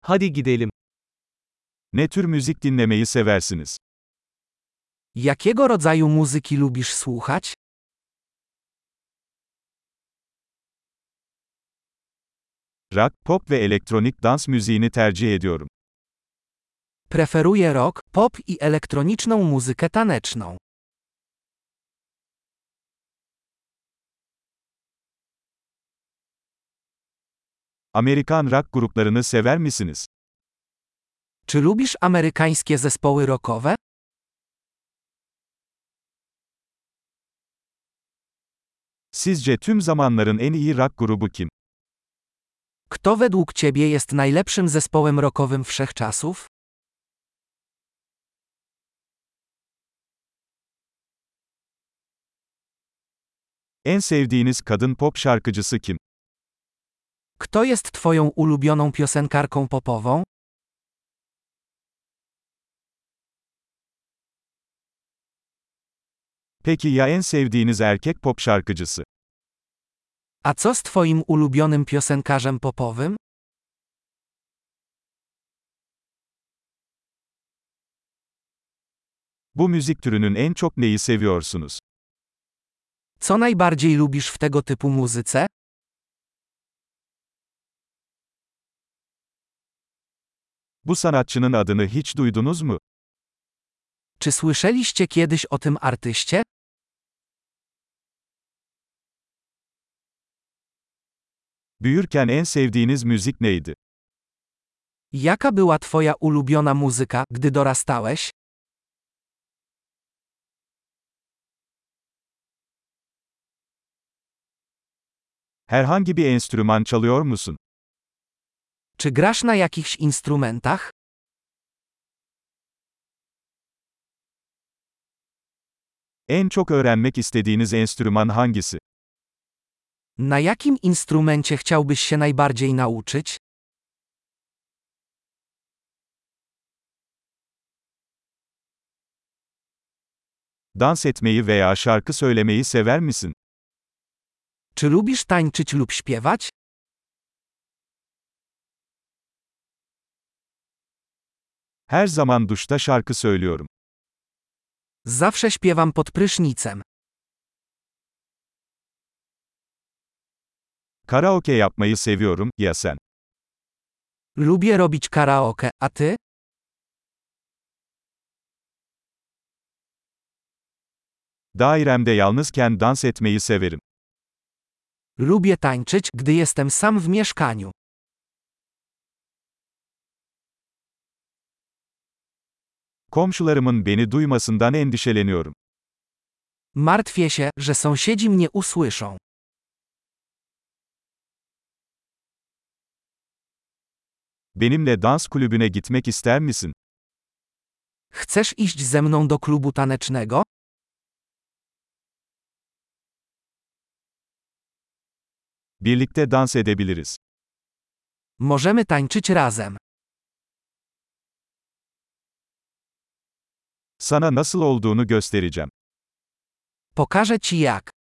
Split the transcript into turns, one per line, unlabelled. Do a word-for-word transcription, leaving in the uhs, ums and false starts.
Hadi gidelim.
Ne tür müzik dinlemeyi seversiniz?
Jakiego rodzaju muzyki lubisz słuchać?
Rock, pop ve elektronik dans müziğini tercih ediyorum.
Preferuję rock, pop i elektroniczną muzykę taneczną.
Amerikan rock gruplarını sever misiniz?
Czy lubisz amerykańskie zespoły rockowe?
Sizce tüm zamanların en iyi rock grubu kim?
Kto według ciebie jest najlepszym zespołem rockowym wszechczasów?
En sevdiğiniz kadın pop şarkıcısı kim?
Kto jest twoją ulubioną piosenkarką popową?
Peki ya en sevdiğiniz erkek pop şarkıcısı?
A co z twoim ulubionym piosenkarzem popowym?
Bu müzik türünün en çok neyi seviyorsunuz?
Co najbardziej lubisz w tego typu muzyce?
Bu sanatçının adını hiç duydunuz mu?
Czy słyszeliście kiedyś o tym artyście?
Büyürken en sevdiğiniz müzik neydi?
Jaka była twoja ulubiona muzyka, gdy dorastałeś?
Herhangi bir enstrüman çalıyor musun?
Czy grasz na jakichś instrumentach?
En çok öğrenmek istediğiniz enstrüman hangisi?
Na jakim instrumencie chciałbyś się najbardziej nauczyć?
Dans etmeyi veya şarkı söylemeyi sever misin?
Czy lubisz tańczyć lub śpiewać?
Her zaman duşta şarkı söylüyorum.
Zawsze śpiewam pod prysznicem.
Karaoke yapmayı seviyorum, ya sen?
Lubię robić karaoke, a ty?
Dairemde yalnızken dans etmeyi severim.
Lubię tańczyć, gdy jestem sam w mieszkaniu.
Komşularımın beni duymasından endişeleniyorum.
Martwię się, że sąsiedzi mnie usłyszą.
Benimle dans kulübüne gitmek ister misin?
Chcesz iść ze mną do klubu tanecznego?
Birlikte dans edebiliriz.
Możemy tańczyć razem.
Sana nasıl olduğunu göstereceğim.
Pokażę ci jak.